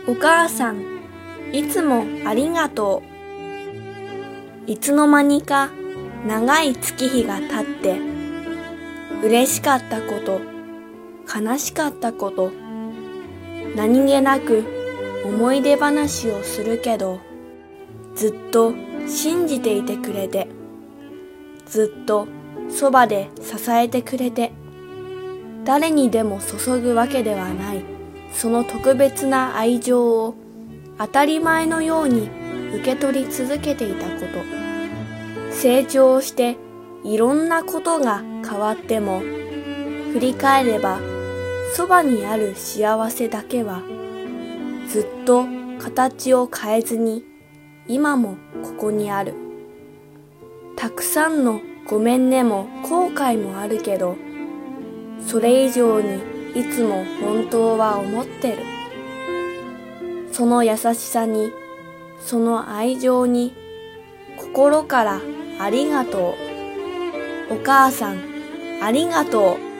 お母さん、いつもありがとう。いつの間にか長い月日が経って、嬉しかったこと、悲しかったこと、何気なく思い出話をするけど、ずっと信じていてくれて、ずっとそばで支えてくれて、誰にでも注ぐわけではない、その特別な愛情を当たり前のように受け取り続けていたこと。成長していろんなことが変わっても、振り返ればそばにある幸せだけはずっと形を変えずに今もここにある。たくさんのごめんねも後悔もあるけど、それ以上にいつも本当は思ってる。その優しさに、その愛情に、心からありがとう。お母さん、ありがとう。